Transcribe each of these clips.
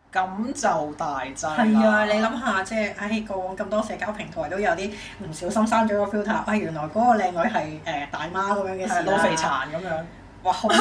咁就大劑啦。 係啊，你諗下，即係過往咁多社交平台都有啲唔小心刪咗個 filter，原來嗰個靚女係大媽咁樣嘅事啦， 老肥殘咁樣。 哇！好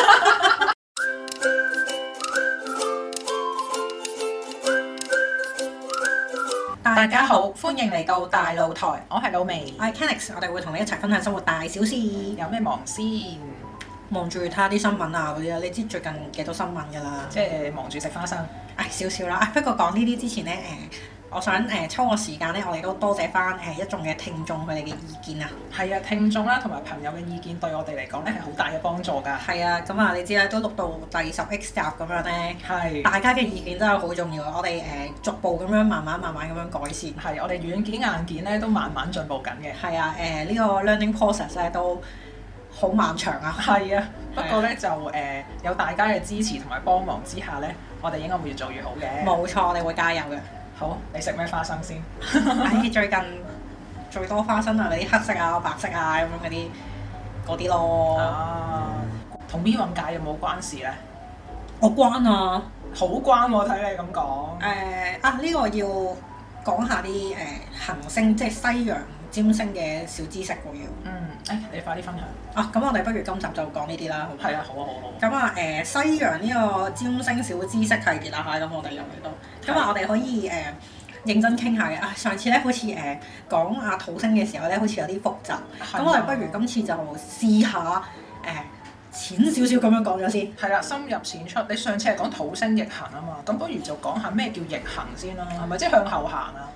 大家好，歡迎嚟到大露台， 我係老味， 我係 Kennix，我哋會同你一齊分享生活大小事。 有咩忙先？ 望住睇下啲新聞啊嗰啲啊，你知最近幾多新聞㗎啦？ 即係忙住食花生。 少少啦。不過講呢啲之前咧，我想抽個時間咧，我哋都多謝翻一眾嘅聽眾佢哋嘅意見啊。 係啊，聽眾啦同埋朋友嘅意見對我哋嚟講咧係好大嘅幫助㗎。 係啊，咁啊你知啦，都錄到第10X 集咁樣咧。係。大家嘅意見真係好重要，我哋逐步咁樣慢慢咁樣改善。 係，我哋軟件硬件咧都慢慢進步緊嘅。 係啊，呢個 learning process 咧都好漫長啊。係啊， 不過咧就有大家嘅支持同埋幫忙之下咧，我哋應該會越做越好嘅。 冇錯，我哋會加油嘅。 好，你食咩花生先？ 最近最多花生啊，嗰啲黑色啊、白色啊咁樣嗰啲咯。 同 B 運界有冇關事咧？ 我關啊， 好關喎！睇你咁講。 呢個要講下啲行星，即係西洋占星嘅小知識喎要。 你快啲分享。 咁我哋不如今集就講呢啲啦。 係啊，好啊，好啊。 咁西洋呢個占星小知識系列啦嚇，咁我哋又嚟到。咁我哋可以認真傾下嘅。上次咧好似講阿土星嘅時候咧，好似有啲複雜。咁我哋不如今次就試下淺少少咁樣講咗先。 係啦，深入淺出。你上次係講土星逆行啊嘛，咁不如就講下咩叫逆行先啦，係咪即係向後行啊？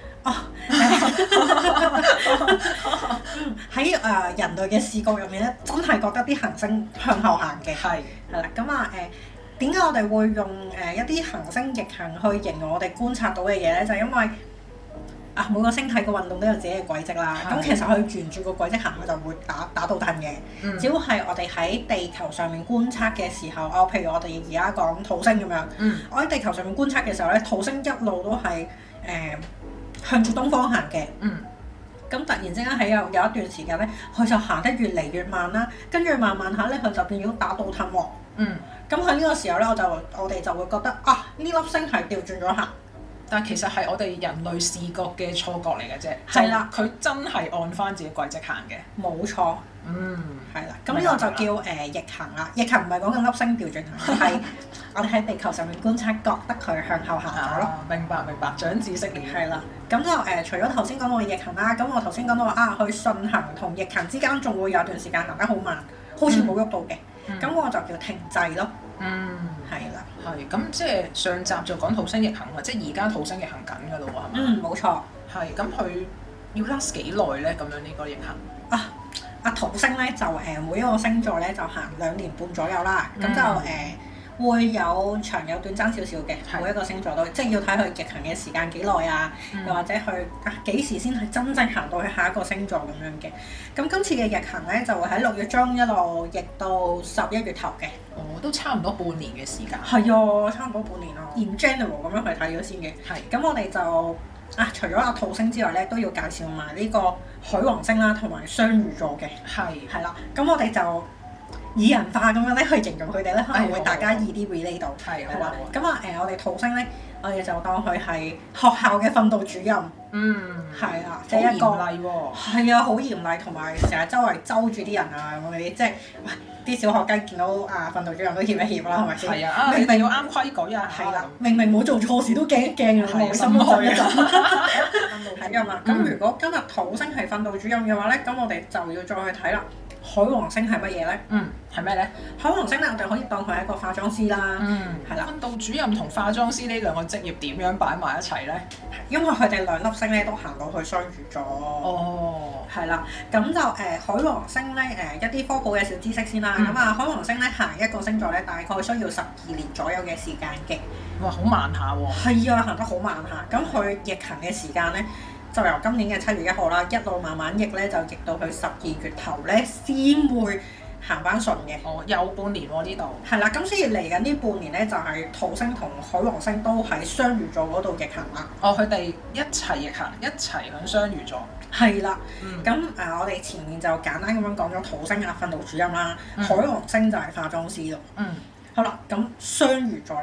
喺人類嘅視覺入面咧，真係覺得啲行星向後行嘅。係啦，咁點解我哋會用一啲行星逆行去形容我哋觀察到嘅嘢咧？就係因為每個星體嘅運動都有自己嘅軌跡啦。咁其實佢沿住個軌跡行，佢就會打倒褪嘅。只要係我哋喺地球上面觀察嘅時候，譬如我哋而家講土星咁樣，我喺地球上面觀察嘅時候咧，土星一路都係向住東方行嘅。咁突然之間喺有一段時間咧，佢就行得越嚟越慢啦，跟住慢慢下咧，佢就變咗打倒褪喎。咁喺呢個時候咧，我哋就會覺得呢粒星係調轉咗行。 但其實係我哋人類視覺嘅錯覺嚟嘅啫。 係啦， 佢真係按翻自己軌跡行嘅。 冇錯。係啦，咁呢個就叫逆行啦。逆行唔係講緊粒星調轉行，係我哋喺地球上面觀察，覺得佢向後行咗咯。 明白，長知識了。 係啦，咁就除咗頭先講到嘅逆行啦，咁我頭先講到話佢順行同逆行之間仲會有段時間行得好慢，好似冇喐到嘅，咁我就叫停滯咯。係啦。 係，咁即係上集就講土星逆行啊，即係而家土星逆行緊㗎咯喎，係咪？ 冇錯。係， 咁佢要 last 幾耐咧？咁樣呢個逆行？ 土星咧就每一個星座咧就行2年半左右啦，咁就會有長有短爭少少嘅，每一個星座都即係要睇佢逆行嘅時間幾耐啊，又或者佢幾時先係真正行到去下一個星座咁樣嘅。咁今次嘅逆行咧就會喺6月中一路逆到11月頭嘅。 都差唔多半年嘅時間。 係啊，差唔多半年咯。In general 咁樣去睇咗先嘅。係。咁我哋就除咗土星之外咧，都要介紹埋呢個海王星啦，同埋雙魚座嘅。係啦。咁我哋就擬人化咁樣咧去形容佢哋咧，可能會大家易啲 relate 到。係啊。咁我哋土星咧，我哋就當佢係學校嘅訓導主任。係啊，即係一個好嚴厲喎。係啊，好嚴厲，同埋成日周圍揪住啲人啊咁嗰啲，即係啲小學雞見到訓導主任都協一協啦，係咪先？係啊，明明要啱規矩啊。係啦，明明冇做錯事都驚一驚啊，內心都震一震。係㗎嘛。咁如果今日土星係訓導主任嘅話咧，咁我哋就要再去睇啦。海王星係乜嘢咧？係咩咧？海王星咧，我哋可以當佢係一個化妝師啦。係啦。訓導主任同化妝師呢兩個職業點樣擺埋一齊咧？因為佢哋兩粒星咧都行到去雙魚座。係啦。咁就海王星咧一啲科普嘅小知識先啦。咁海王星咧行一個星座咧，大概需要12年左右嘅時間嘅。哇！好慢下喎。係啊，行得好慢下。咁佢逆行嘅時間咧，就由今年嘅7月1號啦，一路慢慢逆咧，就逆到去12月頭咧，先會行翻順嘅。有半年喎呢度。係啦，咁所以嚟緊呢半年咧，就係土星同海王星都喺雙魚座嗰度逆行啦。佢哋一齊逆行，一齊響雙魚座。係啦。咁我哋前面就簡單咁樣講咗土星訓導主任啦，海王星就係化妝師咯。好啦，咁雙魚座啦。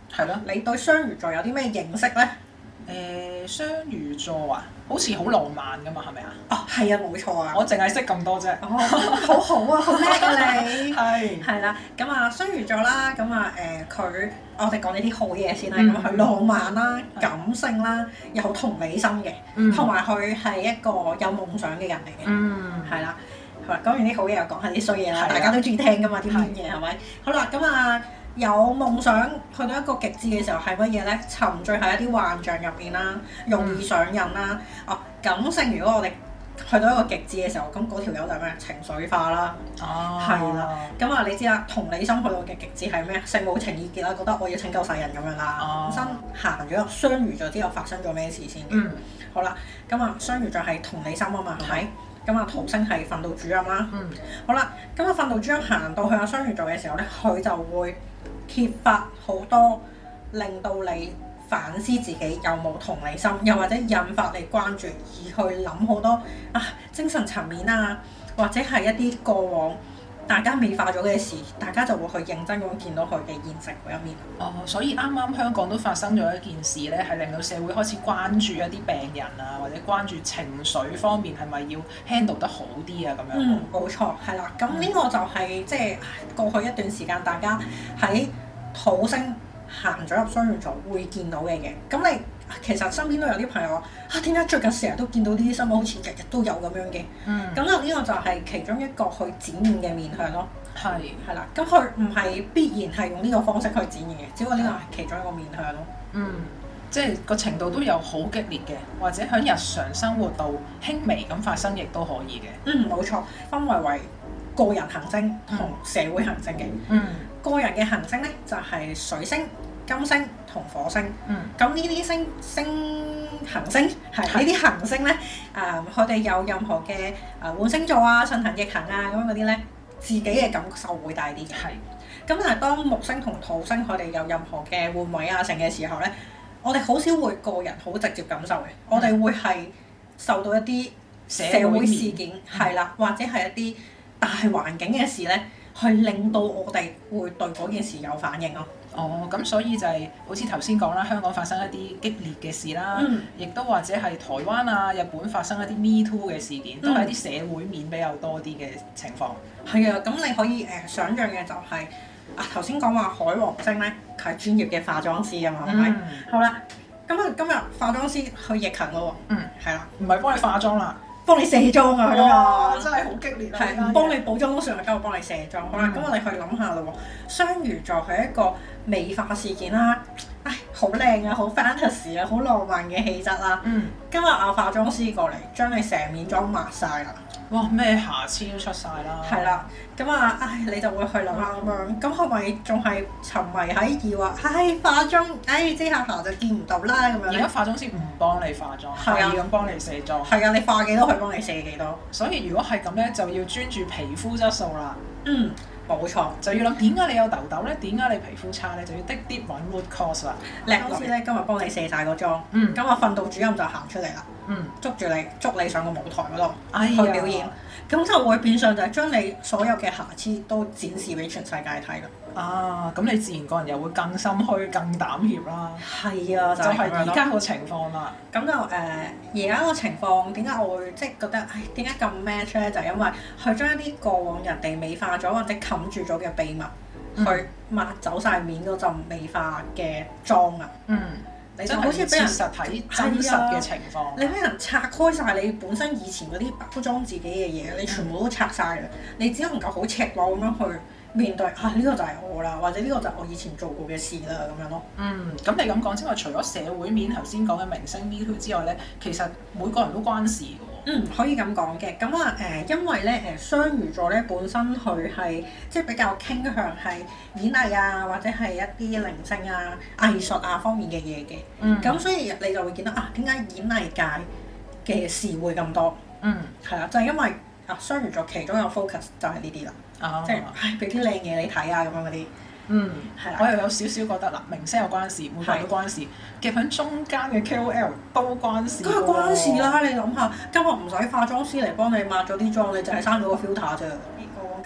係咯。 你對雙魚座有啲咩認識咧？ 雙魚座啊，好似好浪漫噶嘛，係咪啊？ 哦，係啊，冇錯啊。 我淨係識咁多啫。 哦，好好啊，好叻啊你。 係。 係啦，咁啊雙魚座啦，咁啊佢，我哋講呢啲好嘢先啦。咁佢浪漫啦、感性啦，有同理心嘅，同埋佢係一個有夢想嘅人嚟嘅。係啦，好啦，講完啲好嘢又講下啲衰嘢啦，大家都中意聽噶嘛啲面嘢係咪？好啦，咁啊。有夢想去到一個極致嘅時候係乜嘢咧？沉醉喺一啲幻象入邊啦，容易上癮啦。感性如果我哋去到一個極致嘅時候，咁嗰條友就係咩？情緒化啦。係啦。咁你知啦，同理心去到嘅極致係咩？聖母情意結啦，覺得我要拯救世人咁樣啦。本身行咗入雙魚座之後發生咗咩事先？好啦，咁雙魚座係同理心啊嘛，係咪？咁土星係訓導主任啦。好啦，咁訓導主任行到去雙魚座嘅時候咧，佢就會揭發好多令到你反思自己有冇同理心，又或者引發你關注，而去諗好多精神層面啊，或者係一啲過往大家美化咗嘅事，大家就會去認真咁見到佢嘅現實嗰一面。 所以啱啱香港都發生咗一件事咧，係令到社會開始關注一啲病人啊，或者關注情緒方面係咪要 handle 得好啲啊咁樣。 冇錯，係啦。咁呢個就係即係過去一段時間大家喺土星行咗入雙魚座會見到嘅嘢。咁你其實身邊都有啲朋友話點解最近成日都見到呢啲新聞，好似日日都有咁樣嘅。咁呢個就係其中一個去展現嘅面向咯。係啦，咁佢唔係必然係用呢個方式去展現嘅，只不過呢個係其中一個面向咯。 即係個程度都有好激烈嘅，或者喺日常生活度輕微咁發生，亦都可以嘅。 冇錯，分為個人行星同社會行星嘅。個人嘅行星咧就係水星、金星同火星。咁呢啲行星係呢啲行星咧，佢哋有任何嘅換星座啊、順行逆行啊咁樣嗰啲咧，自己嘅感受會大啲嘅。咁但係當木星同土星佢哋有任何嘅換位啊成嘅時候咧，我哋好少會個人好直接感受嘅，我哋會係受到一啲社會事件係啦，或者係一啲大環境嘅事咧，去令到我哋會對嗰件事有反應咯。 咁所以就係好似頭先講啦，香港發生一啲激烈嘅事啦，亦都或者係台灣啊、日本發生一啲 Me Too 嘅事件，都係一啲社會面比較多啲嘅情況。係啊，咁你可以想像嘅就係頭先講話海王星咧，佢係專業嘅化妝師啊嘛，係咪？好啦，咁今日化妝師去逆行咯喎。係啦， 唔係幫你化妝啦。 幫你卸妝啊！ 哇，真係好激烈啊！ 係唔幫你補妝都算啦，今日幫你卸妝。好啦，咁我哋去諗下啦喎。雙魚座係一個美化事件啦，好靚啊，好 fantasy 啊，好浪漫嘅氣質啦。今日化妝師過嚟，將你成面妝抹晒啦。 哇！咩瑕疵都出晒啦。 係啦，咁你就會去諗下咁樣，咁係咪仲係沉迷喺以話，化妝，遮下瑕就見唔到啦咁樣？ 而家化妝師唔幫你化妝，係咁幫你卸妝。 係啊，你化幾多佢幫你卸幾多。 所以如果係咁咧，就要專注皮膚質素啦。 冇錯， 就要諗點解你有痘痘咧？點解你皮膚差咧？就要滴啲揾 root cause 啦。 好似咧今日幫你卸晒個妝，咁訓導主任就行出嚟啦，捉住你，捉你上個舞台嗰度去表演，咁就會變相就係將你所有嘅瑕疵都展示俾全世界睇啦。 咁你自然個人又會更心虛、更膽怯啦。 係啊，就係而家個情況啦。 咁就而家個情況點解我會即係覺得點解咁 match 咧？就係因為佢將一啲過往人哋美化咗或者冚住咗嘅秘密，去抹走晒面嗰陣美化嘅妝啊！你就好似俾人實睇真實嘅情況， 你俾人拆開晒你本身以前嗰啲包裝自己嘅嘢，你全部都拆晒啦！你只能夠好赤裸咁樣去面對呢個就係我啦，或者呢個就係我以前做過嘅事啦咁樣咯。 咁你咁講之外，除咗社會面頭先講嘅明星 Me Too 之外咧，其實每個人都關事㗎喎。 可以咁講嘅。咁因為咧雙魚座咧本身佢係即係比較傾向係演藝啊，或者係一啲靈性啊、藝術啊方面嘅嘢嘅。咁所以你就會見到點解演藝界嘅事會咁多？係啦，就係因為雙魚座其中有 focus 就係呢啲啦。即係俾啲靚嘢你睇啊咁樣嗰啲。係啦。 我又有少少覺得明星有關事，每個人都關事，夾喺中間嘅 KOL 都關事。 梗係關事啦！你諗下，今日唔使化妝師嚟幫你抹咗啲妝，你就係生咗個 filter 啫。過往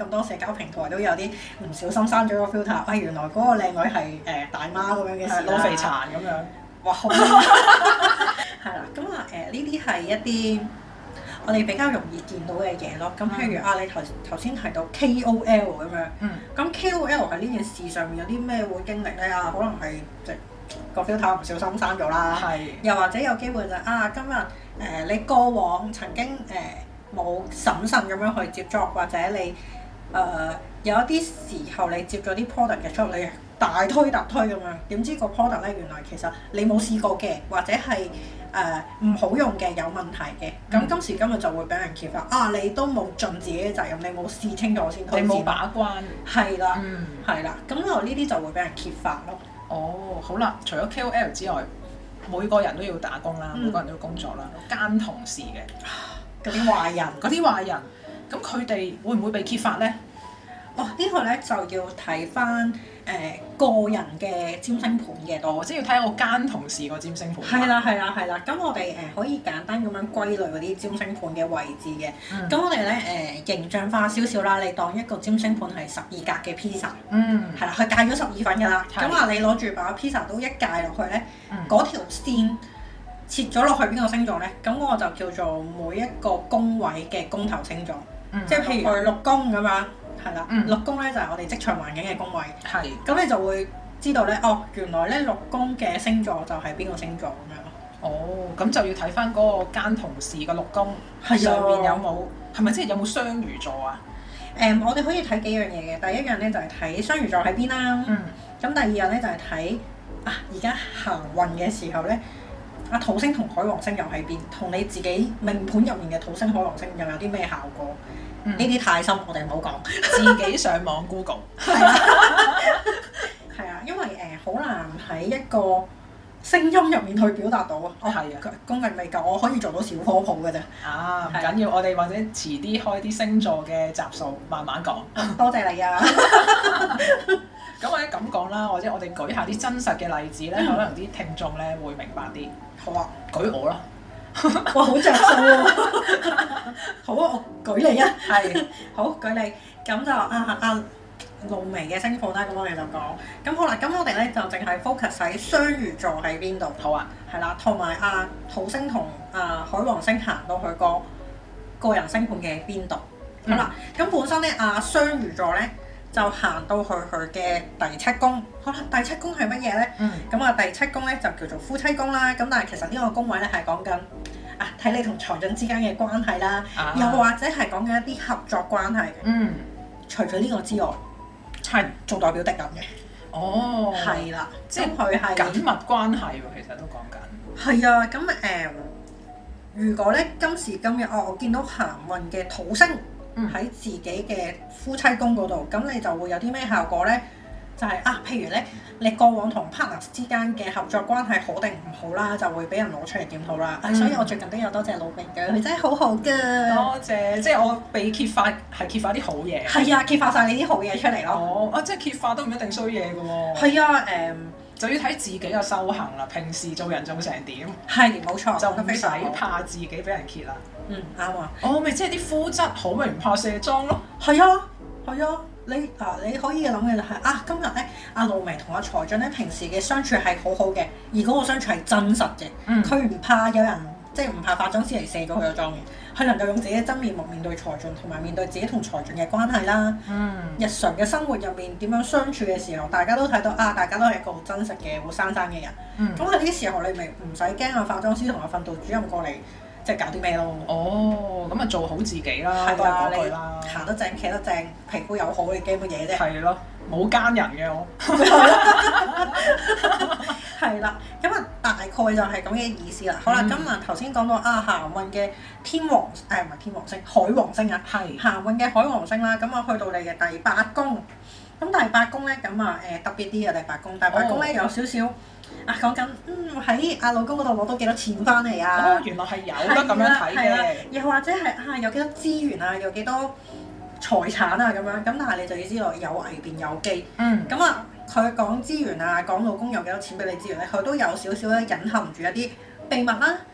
咁多社交平台都有啲唔小心刪咗個 filter， 原來嗰個靚女係大媽咁樣嘅事啦， 老肥殘咁樣。 哇！好係啦，咁呢啲係一啲我哋比較容易見到嘅嘢咯。咁譬如你頭先提到 KOL 咁樣，咁 KOL 喺呢件事上面有啲咩會經歷咧？可能係即個 filter 唔小心刪咗啦，又或者有機會就今日你過往曾經冇審慎咁樣去接觸，或者你有一啲時候你接咗啲 product 嘅出嚟，你大推特推咁樣，點知個 product 咧原來其實你冇試過嘅，或者係唔好用嘅，有問題嘅。咁今時今日就會俾人揭發，你都冇盡自己嘅責任，你冇試清楚先推薦， 你冇把關。係啦，係啦，咁我呢啲就會俾人揭發咯。 好啦，除咗 KOL 之外，每個人都要打工啦，每個人都要工作啦，奸同事嘅嗰啲壞人， 咁佢哋會唔會被揭發咧？ 呢個咧就要睇翻個人嘅占星盤嘅多， 即係要睇個奸同事個占星盤。 係啦。咁我哋可以簡單咁樣歸類嗰啲占星盤嘅位置嘅。咁我哋咧形象化少少啦，你當一個占星盤係12格嘅 pizza。係啦，佢界咗12份㗎啦。咁你攞住把 pizza 都一界落去咧，嗰條線切咗落去邊個星座咧？咁我就叫做每一個宮位嘅宮頭星座。即係譬如佢六宮咁樣。係啦，六宮咧就係我哋職場環境嘅宮位。咁你就會知道咧，原來咧六宮嘅星座就係邊個星座咁樣咯。 咁就要睇翻嗰個奸同事嘅六宮上面有冇，係咪即係有冇雙魚座啊？ 我哋可以睇幾樣嘢嘅。第一樣咧就係睇雙魚座喺邊啦。咁第二樣咧就係睇而家行運嘅時候咧，土星同海王星又喺邊，同你自己命盤入面嘅土星海王星又有啲咩效果？呢啲太深，我哋唔好講， 自己上網 Google。 係因為好難喺一個聲音入面去表達到功力未夠，我可以做到小科普嘅啫。 唔緊要，我哋或者遲啲開啲星座嘅集數，慢慢講。 多謝你啊！ 咁或者咁講啦，或者我哋舉下啲真實嘅例子咧，可能啲聽眾咧會明白啲。 好啊， 舉我啦。 哇，好着數喎！好啊，我舉你啊。好，舉你。咁就露眉嘅星盤啦，咁我哋就講。咁好啦，咁我哋咧就淨係 focus 喺雙魚座喺邊度。 好啊。 係啦，同埋土星同海王星行到佢個人星盤嘅邊度。好啦，咁本身咧雙魚座咧就行到去佢嘅第7宮。好啦，第7宮係乜嘢咧？咁第7宮咧就叫做夫妻宮啦。咁但係其實呢個宮位咧係講緊睇你同財進之間嘅關係啦，又或者係講緊一啲合作關係嘅。除咗呢個之外，係仲代表敵人嘅。係啦，即係佢係緊密關係喎，其實都講緊。 係啊，咁如果咧今時今日我見到行運嘅土星喺自己嘅夫妻宮嗰度，咁你就會有啲咩效果咧？就係譬如咧，你過往同 partner 之間嘅合作關係好定唔好啦，就會俾人攞出嚟檢討啦。所以我最近都有多謝老明嘅，佢真係好好㗎。 多謝，即係我被揭發係揭發啲好嘢。 係啊，揭發晒你啲好嘢出嚟咯。 即係揭發都唔一定衰嘢㗎喎。 係啊， 就要睇自己嘅修行啦。平時做人做成點？ 係冇錯， 就唔使怕自己俾人揭啦。 啱啊。 咪即係啲膚質好咪唔怕卸妝咯。 係啊。你可以諗嘅就係今日咧，露眉同財進咧平時嘅相處係好好嘅，而嗰個相處係真實嘅。佢唔怕有人即係唔怕化妝師嚟卸咗佢嘅妝嘅，佢能夠用自己嘅真面目面對財進，同埋面對自己同財進嘅關係啦。日常嘅生活入面點樣相處嘅時候，大家都睇到大家都係一個好真實嘅活生生嘅人。咁喺呢啲時候，你咪唔使驚化妝師同訓導主任過嚟。即係搞啲咩咯？ 咁做好自己啦， 係啊， 你行得正，企得正，皮膚又好，你驚乜嘢啫？ 係咯，冇奸人嘅我。 係啦，咁大概就係咁嘅意思啦。好啦，今日頭先講到行運嘅天王，唔係天王星，海王星啊。行運嘅海王星啦，咁去到你嘅第8宮。咁第8宮咧，特別啲嘅第8宮。第8宮咧有少少。講緊喺老公嗰度攞到幾多錢翻嚟啊？ 原來係有得咁樣睇嘅。 又或者係有幾多資源啊，有幾多財產啊咁樣。咁但係你就要知道有危便有機。咁佢講資源啊，講老公有幾多錢俾你資源咧，佢都有少少咧隱含住一啲秘密啦，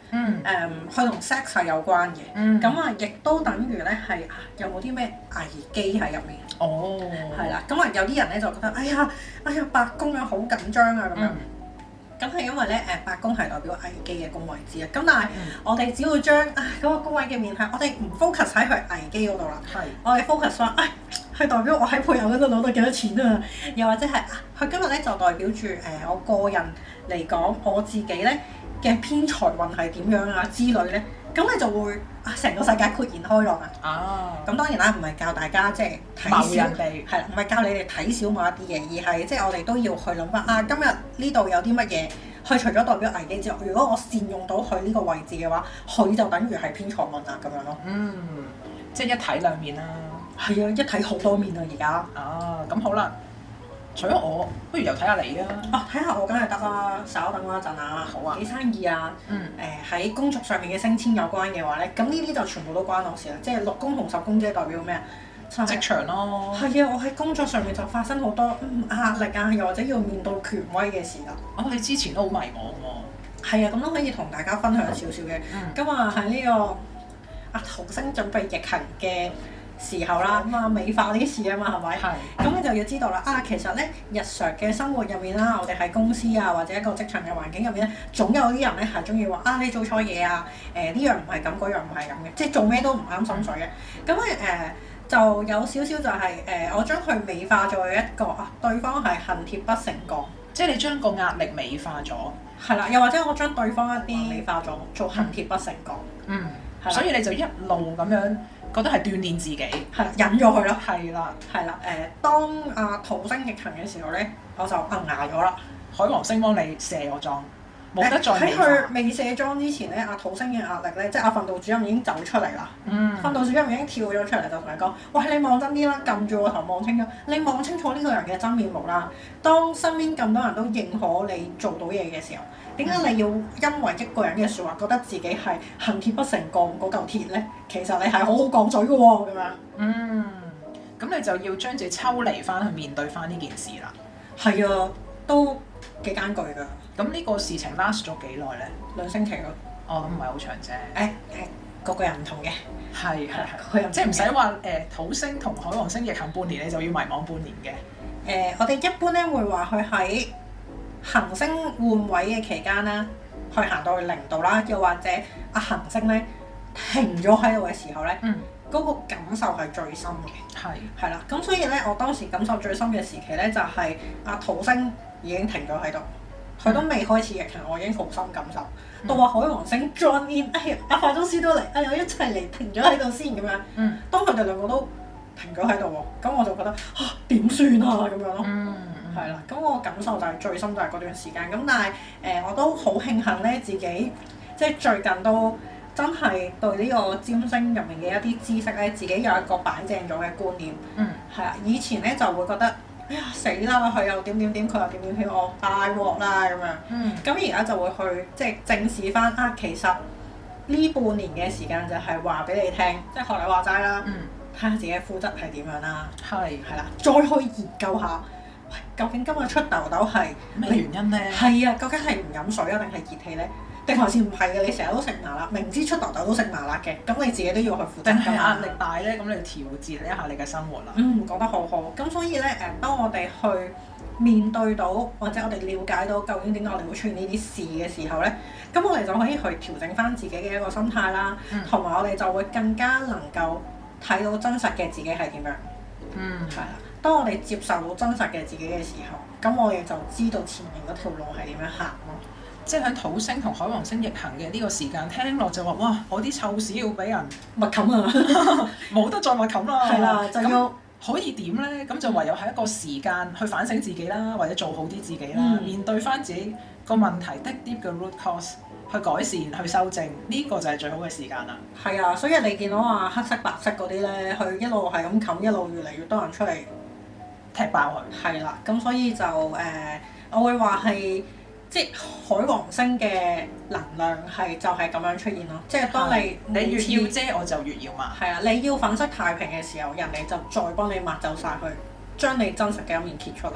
佢同 sex 係有關嘅。咁啊，亦都等於咧係有冇啲咩危機喺入面？哦，係啦。咁啊，有啲人咧就覺得哎呀八宮啊好緊張啊咁樣。咁係因為咧八宮係代表危機嘅宮位之一。咁但係我哋只要將嗰個宮位嘅面向，我哋唔 focus 喺佢危機嗰度啦。我哋 focus 話佢代表我喺配偶嗰度攞到幾多錢啊？又或者係佢今日咧就代表住我個人嚟講，我自己咧嘅偏財運係點樣啊之類咧，咁你就會成個世界豁然開朗啊！咁當然啦，唔係教大家即係睇小人哋，係啦，唔係教你哋睇小某一啲嘢，而係即係我哋都要去諗翻今日呢度有啲乜嘢，佢除咗代表危機之外，如果我善用到佢呢個位置嘅話，佢就等於係偏財運啊咁樣咯。 即係一體兩面啦。 係啊，一體好多面啊而家。 咁好啦。除咗我，不如又睇下你啊！ 睇下我梗係得啦，稍等我一陣啊。好啊。幾生意啊？喺工作上面嘅升遷有關嘅話咧，咁呢啲就全部都關我事啦。即係6宮同10宮，即係代表咩啊？ 職場咯。係啊，我喺工作上面就發生好多壓力啊，又或者要面對權威嘅事啦。 你之前都好迷茫喎。 係啊，咁都可以同大家分享少少嘅。咁啊，喺呢個土星準備逆行嘅時候啦，美化呢啲事啊嘛，係咪？咁你就要知道啦。其實咧，日常嘅生活入面啦，我哋喺公司啊，或者一個職場嘅環境入面咧，總有啲人咧係中意話你做錯嘢啊，呢樣唔係咁，嗰樣唔係咁嘅，即係做咩都唔啱心水嘅。咁就有少少就係我將佢美化咗一個對方係恨鐵不成鋼， 即係你將個壓力美化咗。 係啦，又或者我將對方一啲美化咗，做恨鐵不成鋼。 所以你就一路咁樣。覺得係鍛鍊自己， 係忍咗佢咯。 係啦， 當土星逆行嘅時候咧，我就捱咗啦。 海王星幫你卸咗妝，冇得再喺佢未卸妝之前咧，土星嘅壓力咧，即係訓導主任已經走出嚟啦。訓導主任已經跳咗出嚟，就同你講：喂，你望真啲啦，撳住個頭望清楚，你望清楚呢個人嘅真面目啦。當身邊咁多人都認可你做到嘢嘅時候，點解你要因為一個人嘅説話覺得自己係恨鐵不成鋼嗰嚿鐵咧？其實你係好好鋼嘴嘅喎，咁樣。 咁你就要將自己抽離翻去面對翻呢件事啦。 係啊，都幾艱巨㗎。 咁呢個事情 last 咗幾耐咧？2星期咯。咁唔係好長啫。 個個人唔同嘅。 係，即係唔使話土星同海王星逆行半年，你就要迷茫半年嘅。 我哋一般咧會話佢喺行星換位嘅期間啦，去行到去0度啦，又或者行星咧停咗喺度嘅時候咧，嗰個感受係最深嘅。係啦，咁所以咧，我當時感受最深嘅時期咧，就係土星已經停咗喺度，佢都未開始逆行，我已經好深感受。到話海王星 join in，化妝師都嚟，我一齊嚟停咗喺度先咁樣。當佢哋兩個都停咗喺度喎，咁我就覺得點算啊咁樣咯。係啦，咁我感受就係最深就係嗰段時間。咁但係我都好慶幸咧，自己即係最近都真係對呢個占星入面嘅一啲知識咧，自己有一個擺正咗嘅觀念。係啊，以前咧就會覺得死啦，佢又點點點，佢又點點點，我大鑊啦咁樣。咁而家就會去即係正視翻其實呢半年嘅時間就係話俾你聽，即係學你話齋啦，睇下自己嘅膚質係點樣啦。係啦，再去研究下。究竟今日出痘痘係咩原因咧？ 係啊，究竟係唔飲水啊，定係熱氣咧？定還是唔係嘅？你成日都食麻辣，明知出痘痘都食麻辣嘅，咁你自己都要去負責。 定係壓力大咧？咁你調節一下你嘅生活啦。 講得好好。咁所以咧，當我哋去面對到或者我哋了解到究竟點解我哋會出現呢啲事嘅時候咧，咁我哋就可以去調整翻自己嘅一個心態啦，同埋我哋就會更加能夠睇到真實嘅自己係點樣。係啦。當我哋接受到真實嘅自己嘅時候，咁我哋就知道前面嗰條路係點樣行咯。 即係喺土星同海王星逆行嘅呢個時間，聽落就話哇，我啲臭屎要俾人密冚啊， 冇得再密冚啦。 係啦，就要可以點咧？咁就唯有喺一個時間去反省自己啦，或者做好啲自己啦，面對翻自己個問題的啲嘅 root cause，去改善、去修正，呢個就係最好嘅時間啦。 係啊，所以你見到黑色白色嗰啲咧，佢一路係咁冚，一路越嚟越多人出嚟踢爆佢。係啦，咁所以就我會話係即係海王星嘅能量係就係咁樣出現咯。即係當你越要遮，我就越要抹。 係啊，你要粉飾太平嘅時候，人哋就再幫你抹走晒佢，將你真實嘅一面揭出嚟。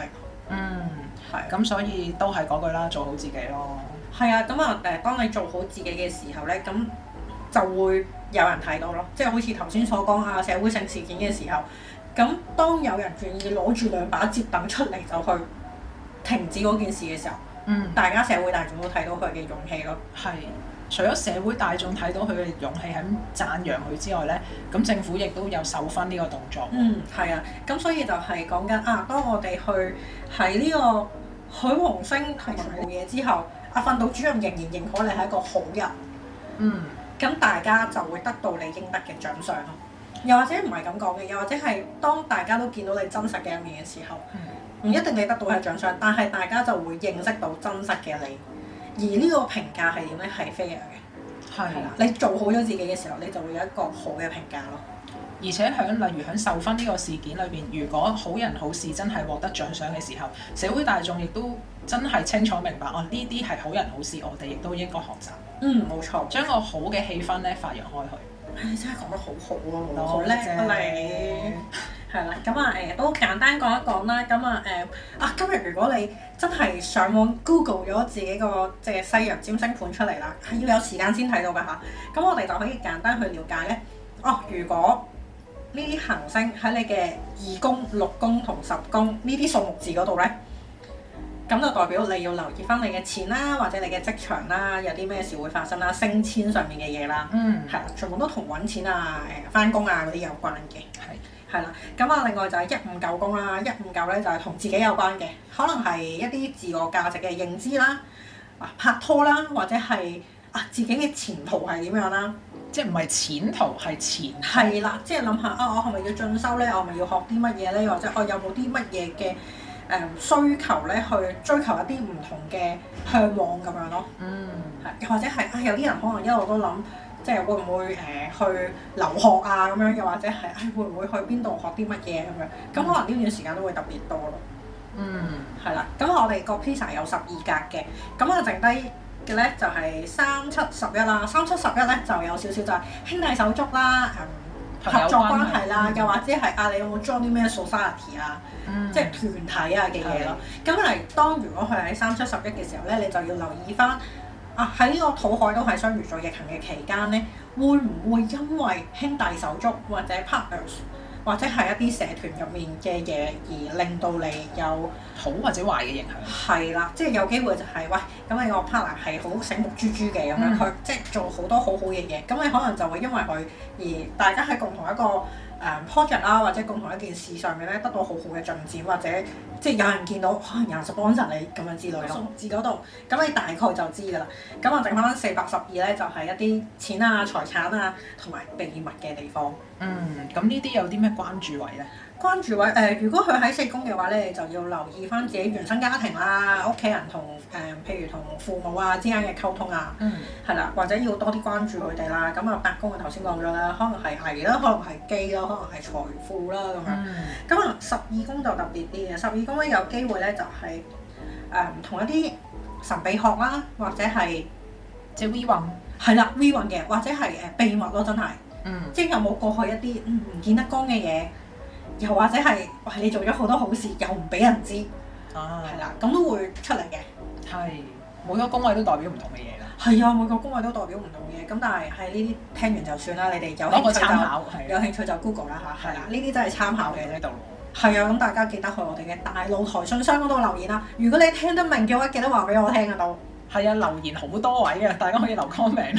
係。 咁所以都係嗰句啦，做好自己咯。 係啊，咁啊當你做好自己嘅時候咧，咁就會有人睇到咯。即係好似頭先所講啊，社會性事件嘅時候，咁當有人願意攞住兩把摺凳出嚟就去停止嗰件事嘅時候，大家社會大眾都睇到佢嘅勇氣咯。 係。除咗社會大眾睇到佢嘅勇氣喺讚揚佢之外咧，咁政府亦都有授勳呢個動作。 係啊，咁所以就係講緊啊，當我哋去喺呢個許黃星同埋做嘢之後，訓導主任仍然認可你係一個好人。咁大家就會得到你應得嘅獎賞咯。又或者唔係咁講嘅，又或者係當大家都見到你真實嘅一面嘅時候，唔一定你得到係獎賞，但係大家就會認識到真實嘅你。而呢個評價係點咧？係 fair 嘅，係啦。你做好咗自己嘅時候，你就會有一個好嘅評價咯。 而且例如喺授勳呢個事件裏邊，如果好人好事真係獲得獎賞嘅時候，社會大眾亦都真係清楚明白，呢啲係好人好事，我哋亦都應該學習。 冇錯。將個好嘅氣氛咧發揚開去。 你真係講得好好喎，好叻啊你！係啦，咁都簡單講一講啦。咁今日如果你真係上網 Google 咗自己個即係西洋占星盤出嚟啦，係要有時間先睇到㗎嚇。咁我哋就可以簡單去了解咧。如果呢啲行星喺你嘅2宮、6宮同10宮呢啲數目字嗰度咧，咁就代表你要留意翻你嘅錢啦，或者你嘅職場啦，有啲咩事會發生啦，升遷上面嘅嘢啦，係啦，全部都同揾錢啊、翻工啊嗰啲有關嘅。係啦，咁另外就係159宮啦，159咧就係同自己有關嘅，可能係一啲自我價值嘅認知啦，拍拖啦，或者係自己嘅前途係點樣啦， 即係唔係前途係前途。 係啦，即係諗下我係咪要進修咧？我係咪要學啲乜嘢咧？或者我有冇啲乜嘢嘅需求咧？去追求一啲唔同嘅嚮往咁樣咯。係，或者係有啲人可能一路都諗。即係會唔會去留學啊咁樣，又或者係會唔會去邊度學啲乜嘢咁樣？咁可能呢段時間都會特別多咯。係啦。咁我哋個 PISA 有12格嘅，咁剩低嘅咧就係3、7、11啦。3、7、11咧就有少少就係兄弟手足啦，合作關係啦，又或者係你有冇 join 啲咩 society 啊，即係團體啊嘅嘢咯。咁當如果佢喺3、7、11嘅時候咧，你就要留意翻。喺呢個土海都係雙魚座逆行嘅期間咧，會唔會因為兄弟手足或者 partners 或者係一啲社團入面嘅嘢而令到你有好或者壞嘅影響？係啦，即係有機會就係咁你個 partner 係好醒目豬豬嘅咁樣，佢即係做好多好好嘅嘢，咁你可能就會因為佢而大家喺共同一個project 啦，或者共同一件事上面咧得到好好嘅進展，或者即係有人見到可能有人 sponsor你咁樣之類咯。數字嗰度，咁你大概就知㗎啦。咁剩翻412咧，就係一啲錢啊、財產啊同埋秘密嘅地方。 咁呢啲有啲咩關注位咧？ 關注位如果佢喺4宮嘅話咧，你就要留意翻自己原生家庭啦、屋企人同譬如同父母之間嘅溝通啊，係啦，或者要多啲關注佢哋啦。咁8宮頭先講咗啦，可能係藝啦，可能係機啦，可能係財富啦咁樣。咁12宮就特別啲嘅，12宮咧有機會咧就係同一啲神秘學啦，或者係即係 V 運， 係啦 V 運嘅，或者係秘密咯，真係，即係有冇過去一啲唔見得光嘅嘢。又或者係你做咗好多好事，又唔俾人知，係啦，咁都會出嚟嘅。係每個宮位都代表唔同嘅嘢啦。 係啊，每個宮位都代表唔同嘅嘢。咁但係呢啲聽完就算啦，你哋有興趣就 Google 啦嚇。係啦，呢啲真係參考嘅呢度。係啊，咁大家記得去我哋嘅大露台信箱嗰度留言啦。如果你聽得明嘅話，記得話俾我聽啊都。 係啊，留言好多位啊，大家可以留 comment。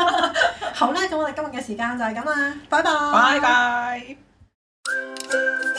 好啦，咁我哋今日嘅時間就係咁啦，拜拜。 拜拜。